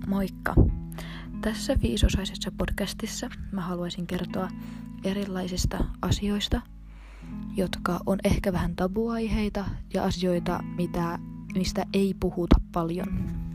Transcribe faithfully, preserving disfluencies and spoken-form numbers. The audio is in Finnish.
Moikka! Tässä viisosaisessa podcastissa mä haluaisin kertoa erilaisista asioista, jotka on ehkä vähän tabuaiheita ja asioita, mitä, mistä ei puhuta paljon.